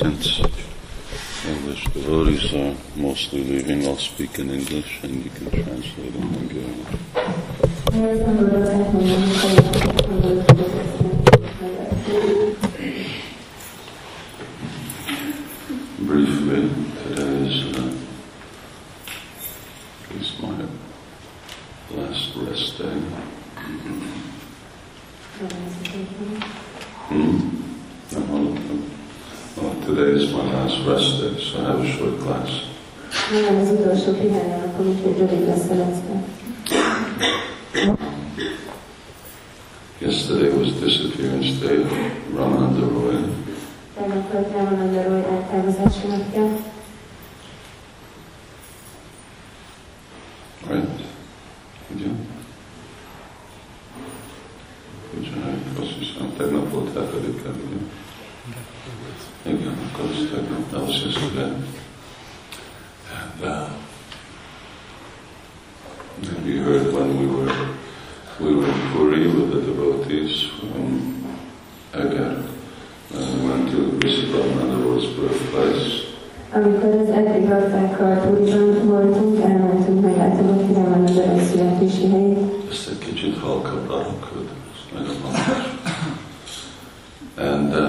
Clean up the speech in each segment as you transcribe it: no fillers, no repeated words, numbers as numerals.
Since English devotees are mostly leaving, I'll speak in English and you can translate in Hungarian. Briefly, today is my last rest day. Today is my last rest day, so I have a short class. Yesterday was disappearance day of Ramananda Roy. Right? Ugye? Azt hiszem, tegnap volt hetedikkel, ugye? Igen, akkor az tegnap, that was yesterday. And we heard when we were in Puri with the devotees from Eger, and we went to visit Ramananda Roy's birthplace. Amikor az Egri baktákkal Puriban voltunk, elmentünk meglátogatni Ramananda Roy születési helyét. Ezt egy kicsit halkabb hangod, ez nagyon hangos. And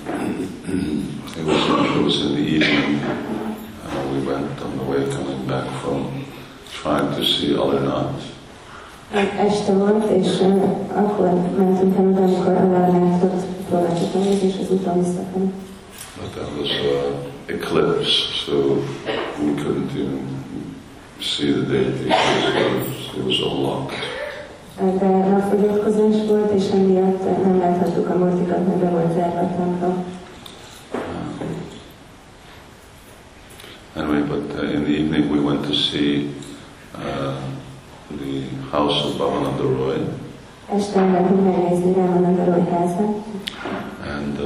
it was in the evening. We went on the way coming back from trying to see Alarnath. Este volt, és akkor mentünk el oda, amikor Alarnathot próbáltuk megnézni, és az úton visszafelé. But that was eclipse, so we couldn't even see the deity because it was all locked. De napfogyatkozás volt, és emiatt nem láthattuk a murtikat, mert be volt zárva a templom. Anyway, but in the evening we went to see the house of Bhavananda Roy. Este mentünk megnézni Ramananda Roy házát. And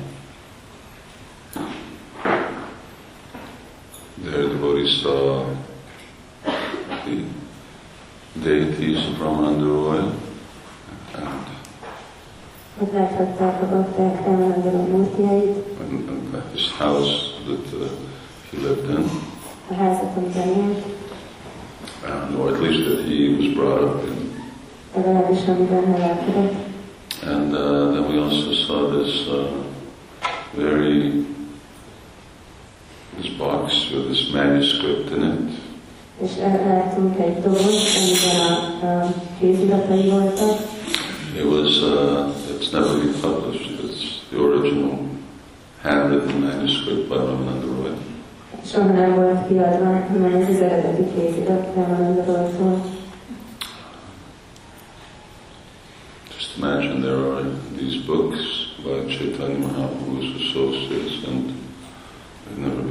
there the devotees saw the deities of Ramananda Roy. And his house that he lived in, or at least that he was brought up in. And then we also saw this this box with this manuscript in it. It was, it's never been published. It's the original handwritten manuscript by Ramananda Roy. Just imagine there are these books by Chaitanya Mahaprabhu's associates and they've never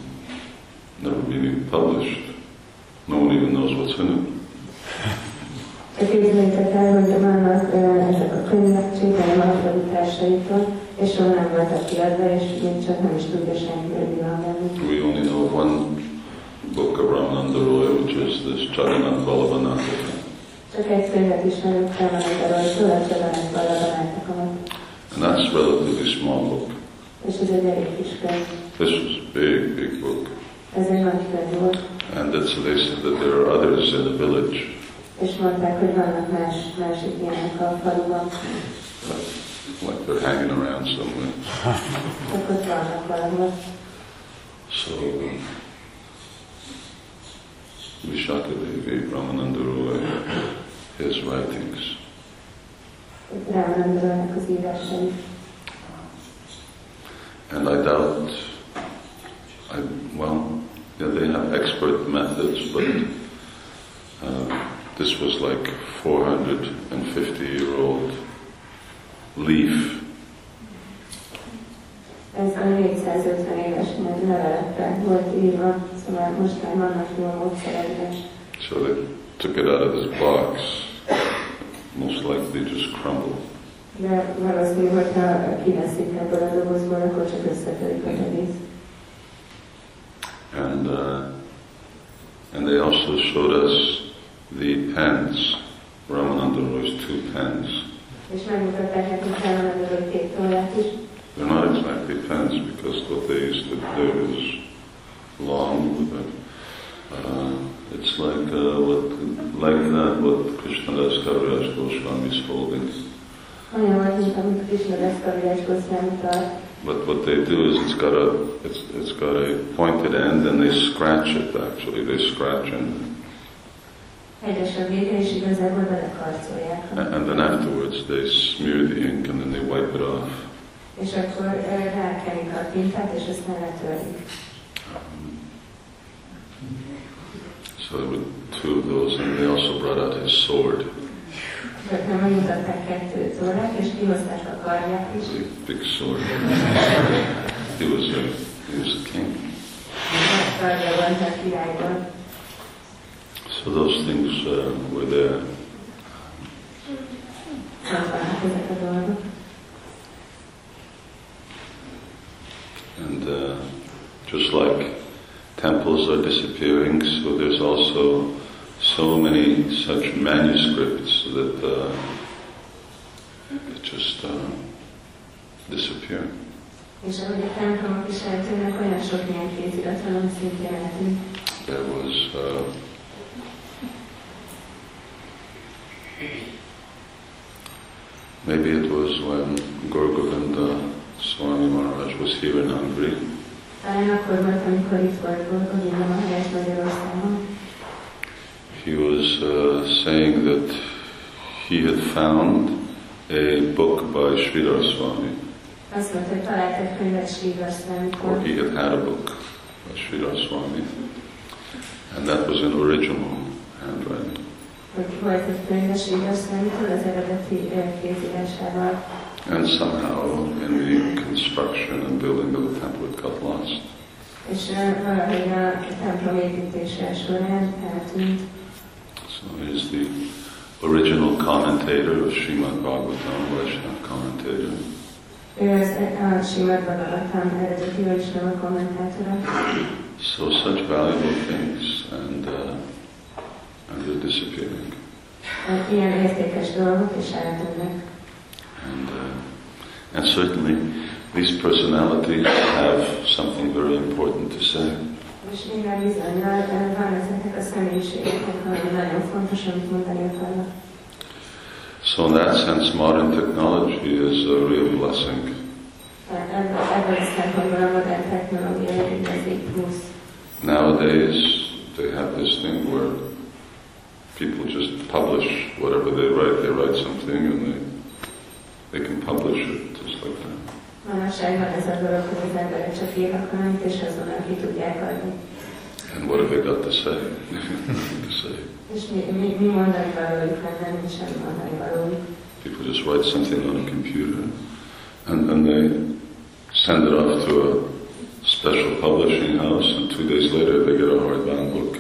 been published. No one even knows what's in it. Képzeljétek el, hogy vannak ezek a könyvek Chaitanya Mahaprabhu társaitól, és soha nem voltak kiadva, és még csak nem is tudja senki, hogy mi van bennük. We only know of one book of Ramananda Roy, which is this Jagannath Vallabhanataka. Csak egy könyvet ismerünk Ramananda Roytól, a Jagannath Vallabhanatakamat. And that's a relatively small book. És ez egy elég kis könyv. This was a big book. Ez egy nagy könyv volt. And they said that there are others in the village. És mondták, hogy vannak másik ilyenek a faluban. Like they're hanging around somewhere. Csak ott vannak valahol. So, Vishakadevi, Ramananda Roy, his writings. Ramananda Roynak az írásai. And I doubt, they have expert methods, but this was like 450-year-old leaf. Ez a 450 éves levelekre volt írva, szóval most már vannak jól módszerekben. So they took it out of this box, most likely just crumbled. De valószínű, hogyha kiveszik ebből a dobozból, akkor csak összetörik az egész. And they also showed us the pens, Ramananda Roy's 2 pens. És megmutatták nekünk Ramananda Roy 2 tollát is. They're not exactly it depends, because what they used to do is long, but it's like what Krishnadas Kaviraj Goswami is holding. But what they do is it's got a pointed end, and they scratch it. Actually, they scratch it. And then afterwards they smear the ink and then they wipe it off. So there were two of those, and they also brought out his sword. A big sword. He was a king. So those things were there. And just like temples are disappearing, so there's also so many such manuscripts that just disappear. There was maybe it was when Gaur Govinda Swami Maharaj was here in Hungary. He was saying that he had found a book by Sridhar Swami. Or he had had a book by Sridhar Swami. And that was in original handwriting. And somehow in the construction and building of the temple it got lost. So he's the original commentator of Srimad Bhagavatam, Vaishnava commentator. So such valuable things, and they're disappearing. And certainly these personalities have something very important to say. So in that sense, modern technology is a real blessing. Nowadays, they have this thing where people just publish whatever they write. They write something and they can publish it just like that. And what have they got to say? Nothing to say. People just write something on a computer and they send it off to a special publishing house, and 2 days later they get a hardbound book.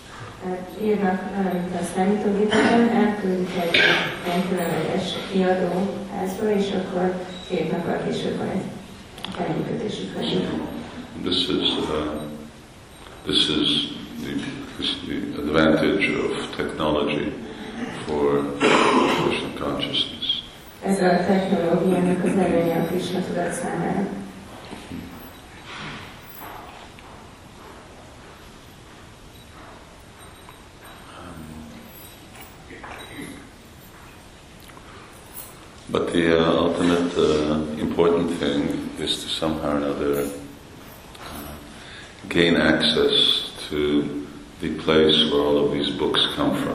This is the advantage of technology for Krishna consciousness. But the ultimate important thing is to somehow or another gain access to the place where all of these books come from.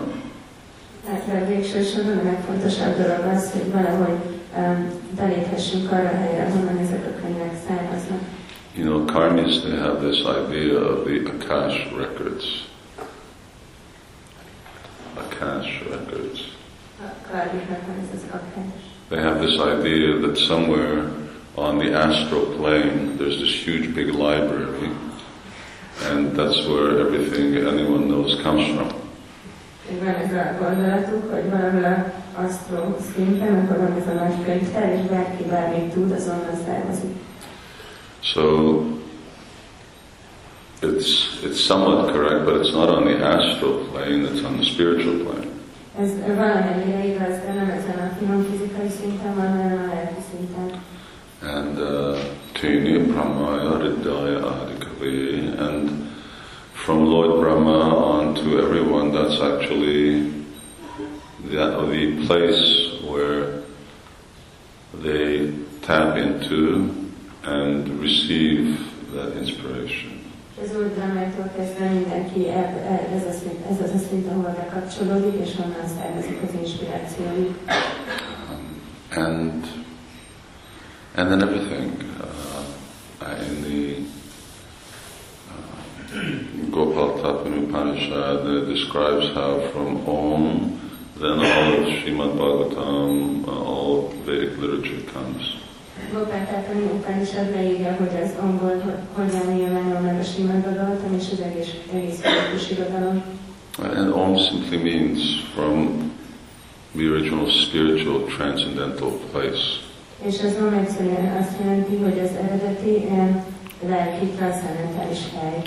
You know, Karmis, they have this idea of the Akash records. Akash records. They have this idea that somewhere on the astral plane there's this huge big library, and that's where everything anyone knows comes from. So it's somewhat correct, but it's not on the astral plane, it's on the spiritual plane. And Tini Brahmaya Hridaya Adikavi, and from Lord Brahma on to everyone, that's actually the place where they tap into and receive that inspiration. Ez úgy Brahmától kezdve mindenki ez az a szint, ahol bekapcsolódik, és onnan származik az inspirációjuk. And then everything in the Gopal Tapani Upanishad describes how from Om, then all of Srimad Bhagavatam, all Vedic literature comes. Gopal Tapani Upanishad leírja, hogy az Omból hogyan nyilvánul meg a Srimad Bhagavatam és az egész védikus irodalom. And Om simply means from the original spiritual transcendental place. És az Om egyszerűen azt jelenti, hogy az eredeti lelki transzcendentális hely.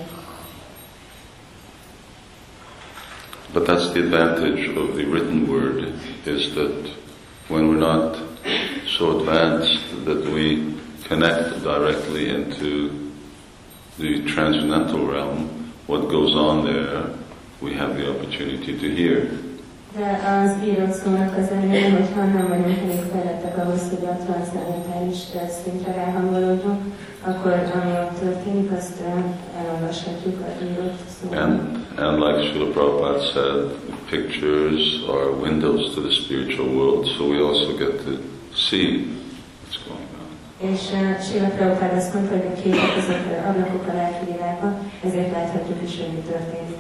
But that's the advantage of the written word, is that when we're not so advanced that we connect directly into the transcendental realm, what goes on there, we have the opportunity to hear. De az írott szónak az előnye, hogyha nem vagyunk elég fejlettek ahhoz, hogy a transzcendentális szintre ráhangolódjunk, akkor ami ott történik, azt elolvashatjuk az írott szóban. And like Srila Prabhupada said, pictures are windows to the spiritual world, so we also get to see what's going on. És Srila Prabhupada azt mondta, hogy a képek azok ablakok a lelki világba, ezért láthatjuk is, hogy mi történik.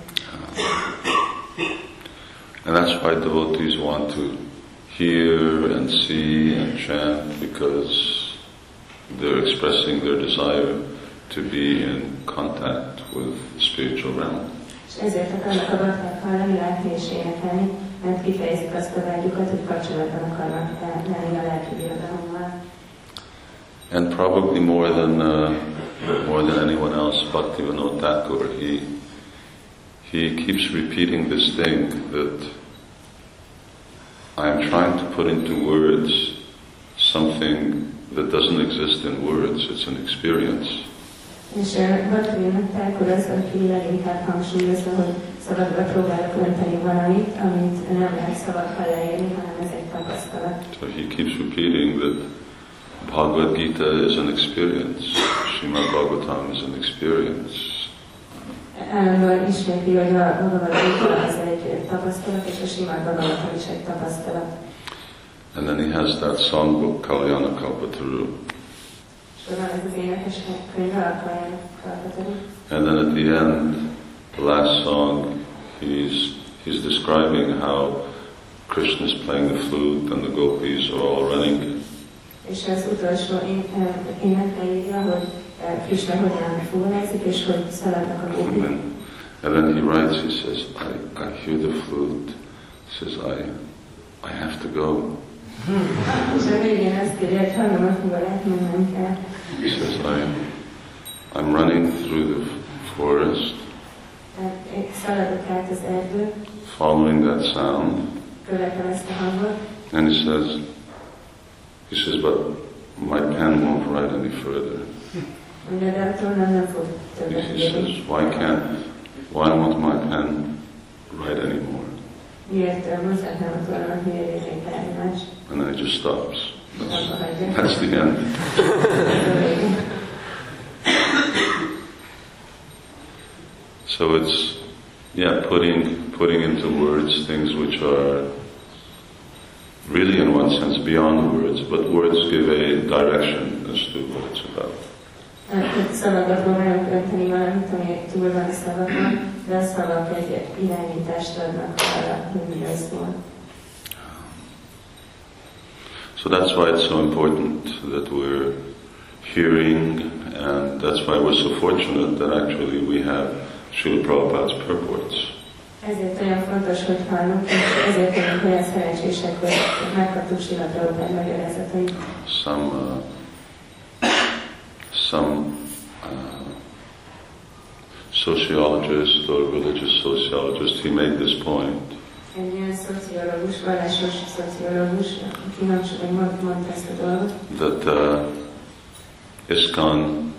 And that's why devotees want to hear and see and chant, because they're expressing their desire to be in contact with the spiritual realm. És ezért akarnak a bakták hallani, látni és énekelni, mert kifejezik azt a vágyukat, hogy kapcsolatban akarnak lenni a lelki birodalommal. And probably more than anyone else, Bhaktivinoda Thakur, he keeps repeating this thing that I'm trying to put into words something that doesn't exist in words, it's an experience. És Bhaktivinoda Thakur az, aki leginkább hangsúlyozza, hogy szavakba próbálok önteni valamit, amit nem lehet szavakkal leírni, hanem ez egy tapasztalat. So he keeps repeating that Bhagavad Gita is an experience, Srimad Bhagavatam is an experience. Állandóan ismétli, hogy a Bhagavad Gita az egy tapasztalat, és a Srimad Bhagavatam is egy tapasztalat. And then he has that songbook, Kalyana Kalpataru. And then at the end, the last song, he's describing how Krishna is playing the flute and the gopis are all running. És az utolsó énekre írja, hogy Krishna hogyan fúvázik, és hogy szaladnak a gopik. And then he writes, he says, I hear the flute. He says, I have to go. És a végén azt írja, hogy hallom a fuvarát, mennem kell. He says, I'm running through the forest, szaladok át az erdő, following that sound. Követem ezt a hangot. And he says, but my pen won't write any further. He says, why won't my pen write anymore? And then it just stops. That's the end. So it's, putting into words things which are really in one sense beyond words, but words give a direction as to what it's about. Szavakat próbálunk önteni valamit, ami túl van a szavakon, de a szavak egy irányítást adnak arra, hogy mi az volt. So that's why it's so important that we're hearing, and that's why we're so fortunate that actually we have Srila Prabhupada's purports. Ezért olyan fontos, hogy hallunk, és ezért vagyunk olyan szerencsések, hogy megkaptuk Srila Prabhupád magyarázatait. Some sociologist or religious sociologist, he made this point. Egy olyan szociológus, vallásos szociológus, aki mondta ezt a dolgot. That ISKCON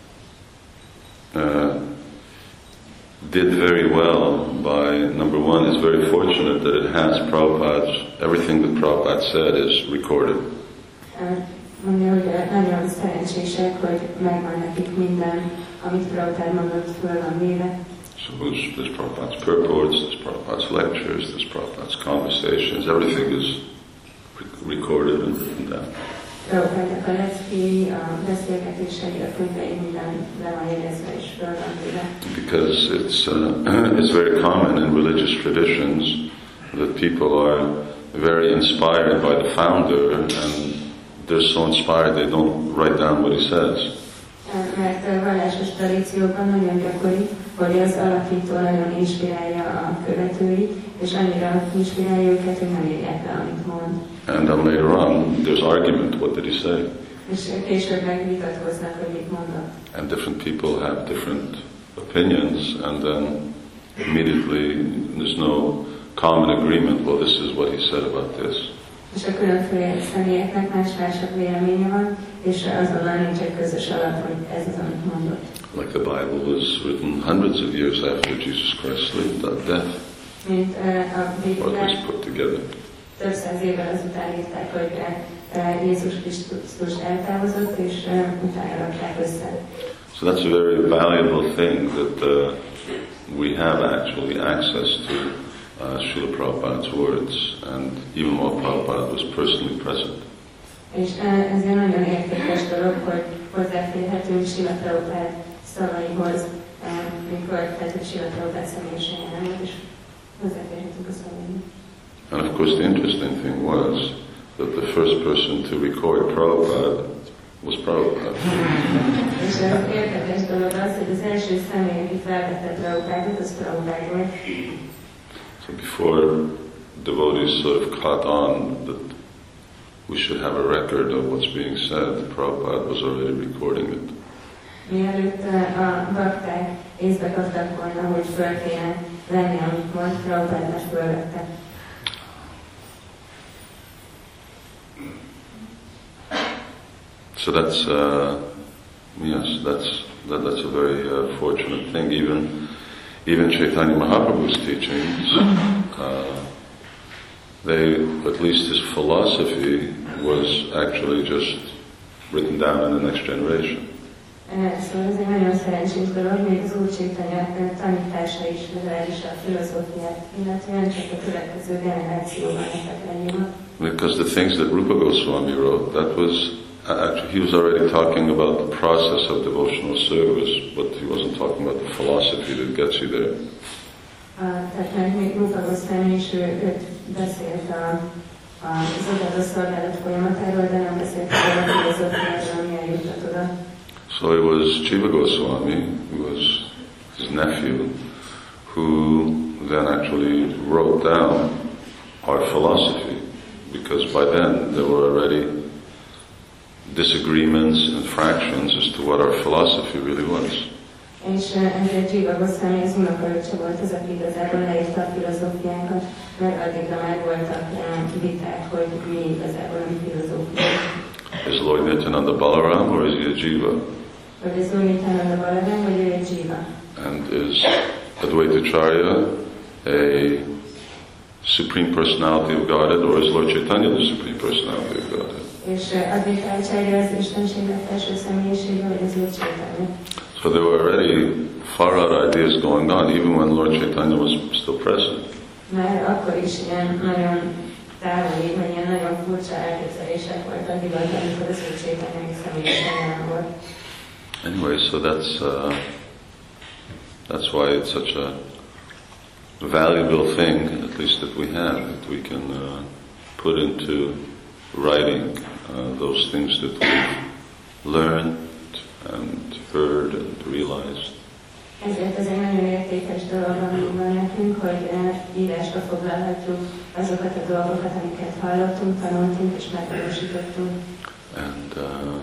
did very well by, number one, it's very fortunate that it has Prabhupada's, everything that Prabhupada said is recorded. Mondja, hogy nagyon szerencsések, hogy megvan nekik minden, amit Prabhupada mondott, föl van véve. So there's Prabhupada's purports, there's Prabhupada's lectures, there's Prabhupada's conversations, everything is recorded and written down. Prabhupádnak a leckéi, a beszélgetései, a könyvei, minden le van jegyezve és föl van véve. Because it's very common in religious traditions that people are very inspired by the founder and they're so inspired they don't write down what he says. Mert vallásos tradíciókban nagyon gyakori, hogy az alapító nagyon inspirálja a követőit, és annyira inspirálja őket, hogy nem írják le, amit mond. And then later on, there's argument, what did he say? És később megvitatkoznak, hogy mit mondott. And different people have different opinions, and then immediately there's no common agreement, well, this is what he said about this. És a különféle személyeknek más-másabb véleménye van, és azonnal nincs egy közös alap, hogy ez az, amit mondott. Like the Bible was written hundreds of years after Jesus Christ's death. Mint a What was Bibliát put together. több száz évvel azután írták, hogy Jézus Krisztus eltávozott, és utána rakták össze. So that's a very valuable thing that we have actually access to Srila Prabhupada's words, and even while Prabhupada was personally present. És ezért nagyon értékes dolog, hogy hozzáférhetünk Srila Prabhupád szavaihoz, mikor Srila Prabhupád személyesen jelen volt, és hozzáférhetünk a szavaihoz. And of course the interesting thing was that the first person to record Prabhupada was Prabhupada. És az érdekes dolog az, hogy az első személy, aki felvette Prabhupádot, az Prabhupád volt. So before devotees sort of caught on that we should have a record of what's being said, Prabhupada was already recording it. Mielőtt a bakták észbe kaptak volna, hogy föl kéne venni, amit mond, Prabhupád már fölvette. So that's that's a very fortunate thing. Even Chaitanya Mahaprabhu's teachings, at least his philosophy was actually just written down in the next generation. Szóval ez egy nagyon szerencsés dolog, még az Úr Chaitanya tanítása is, legalábbis a filozófiát, illetően csak a következő generációban lettek leírva. Because the things that Rupa Goswami wrote, that was actually, he was already talking about the process of devotional service, but he wasn't talking about the philosophy that gets you there. Tehát mert még Rupa Goswami is őt beszélt az odaadó szolgálat folyamatáról, de nem beszélt a filozófiáról, ami eljutott oda. So it was Jiva Goswami, who was his nephew, who then actually wrote down our philosophy, because by then there were already disagreements and fractions as to what our philosophy really was. És ezért Jiva Goswami az unokaöccse volt az, aki igazából leírta a filozófiánkat, mert addigra már voltak viták, hogy mi igazából a mi filozófiánk. Is Lord Nityananda Balaram or is he a Jiva? Vagy ez Lord Nityananda Balaram, vagy ő egy Jiva? And is Advaitacharya a Supreme Personality of Godhead or is Lord Chaitanya the Supreme Personality of Godhead? És Advaitacharya az Istenségnek felső személyisége, vagy az Úr Chaitanya? So there were already far out ideas going on, even when Lord Chaitanya was still present. Már akkor is ilyen nagyon távoli, vagy ilyen nagyon furcsa elképzelések voltak, illetve amikor az Úr Chaitanya még személyesen jelen volt. Anyway, so that's why it's such a valuable thing, at least that we have, that we can put into writing those things that we've learned and heard and realized. Ezért ez egy nagyon értékes dolog, ami van nekünk, hogy írásba foglalhatjuk azokat a dolgokat, amiket hallottunk, tanultunk és megvalósítottunk. And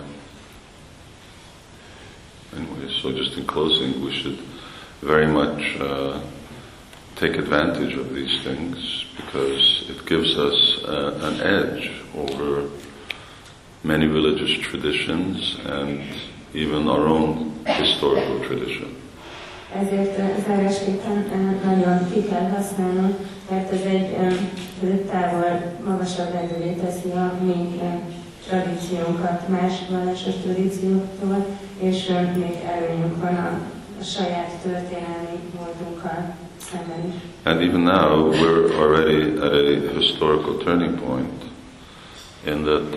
anyway, so just in closing, we should very much take advantage of these things because it gives us an edge over many religious traditions and even our own historical tradition. Ezért zárásképpen nagyon ki kell használnunk, mert ez egy távol magasabb rendővé teszi a mi tradíciónkat más vallásos tradícióktól, és még előnyünk van a saját történelmi módunkkal szemben is. And even now we're already at a historical turning point in that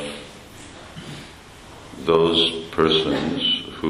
those persons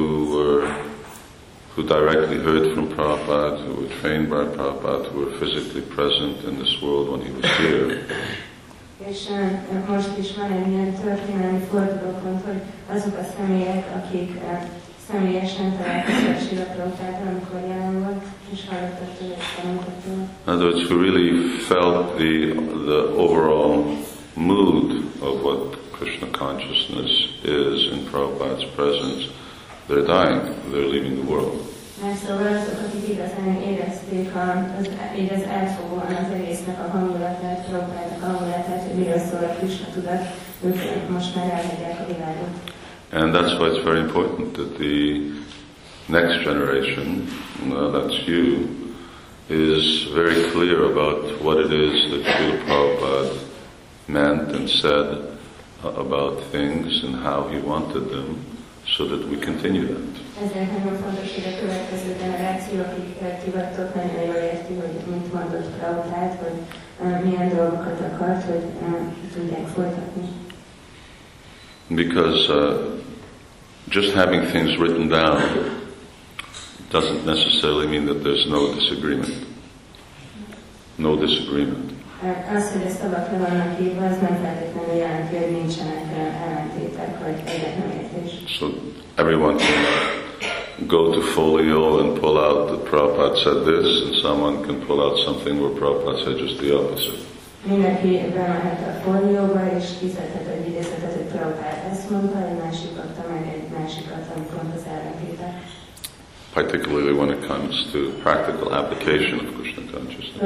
who directly heard from Prabhupada, who were trained by Prabhupada, who were physically present in this world when he was here. És most is van egy ilyen történelmi fordulópont, hogy azok a személyek, akik személyesen találkoztak Srila Prabhupádtal, amikor jelen volt, és hallottak tőle, és tanultak tőle. In other words, who really felt the overall mood of what Krishna consciousness is in Prabhupada's presence, they're dying, they're leaving the world. Szóval azok, akik igazán érezték így az átfogóan az egésznek a hangulatát, Prabhupádnak a hangulatát, hogy miről szól a Krishna tudat, ők most már elhagyják a világot. And that's why it's very important that the next generation, that's you, is very clear about what it is that Srila Prabhupada meant and said about things and how he wanted them, so that we continue that. Ezért nagyon fontos, hogy a következő generáció, akiket hivattok, nagyon jól érti, hogy mit mondott Prabhupád, hogy milyen dolgokat akart, hogy tudják folytatni. Because just having things written down doesn't necessarily mean that there's no disagreement. No disagreement. Az, hogy a szavakra vannak írva, az nem feltétlenül jelenti, hogy nincsenek ellentétek, vagy egyetlenértés. So everyone can go to Folio and pull out that Prabhupada said this, and someone can pull out something where Prabhupada said just the opposite. Mindenki bemehet a fólióba, és kiszedhet egy idézetet, hogy Prabhupád ezt mondta, egy másik adta meg egy másikat, ami pont az ellentétek. Particularly when it comes to practical application of Krishna consciousness.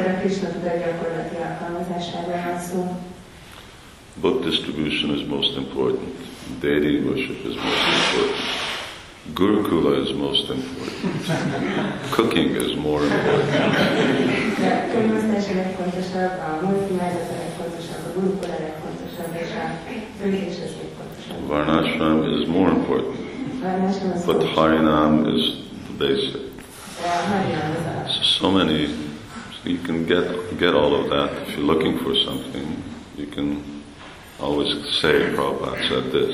Book distribution is most important. Deity worship is most important. Gurukula is most important. Cooking is more important. Varnashram is more important. But Harinam is the basic. So many, you can get all of that. If you're looking for something, you can always say Prabhupada said this.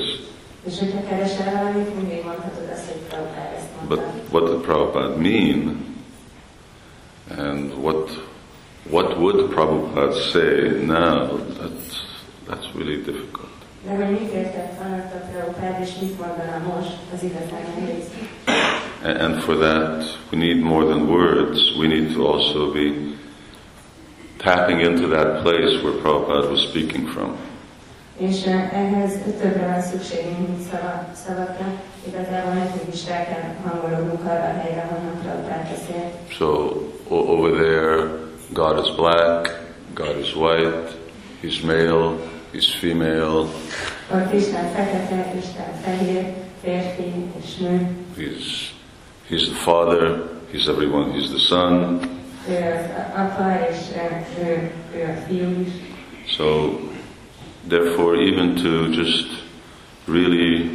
But what did Prabhupada mean? And what would Prabhupada say now? That's really difficult. And for that, we need more than words. We need to also be tapping into that place where Prabhupada was speaking from. És ehhez többre van szükségünk, mint szavakra. Igazából nekünk is rá kell hangolódnunk arra a helyre, honnan Prabhupád beszélt. So over there, God is black, God is white, He's male, He's female. Ott Isten fekete, Isten fehér, férfi és nő. He's the Father, He's everyone, He's the Son. Ő az apa, és ő a fiú is. So therefore, even to just really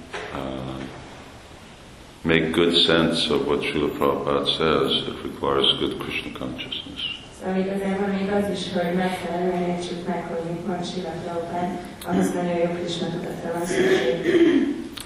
make good sense of what Srila Prabhupada says, it requires good Krishna consciousness. Szóval igazából még az is, hogy megfelelően értsük meg, hogy mit mond Srila Prabhupada, ahhoz nagyon jó Krishna tudatra van szükség.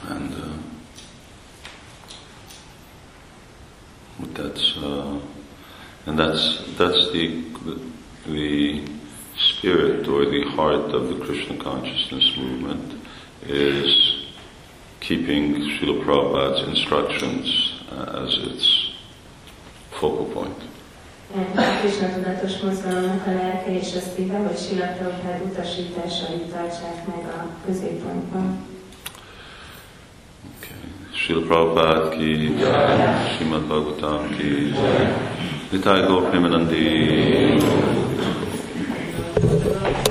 And that's the spirit or the heart of the Krishna consciousness movement, is keeping Srila Prabhupada's instructions as its focal point. A Krishna tudatos mozgalomnak a lelke és a szíve, hogy Srila Prabhupád utasításait tartsák meg a középpontban. Srila Prabhupada ki jai, Srimad Bhagavatam ki jai, Nitai Gaur Premanandi.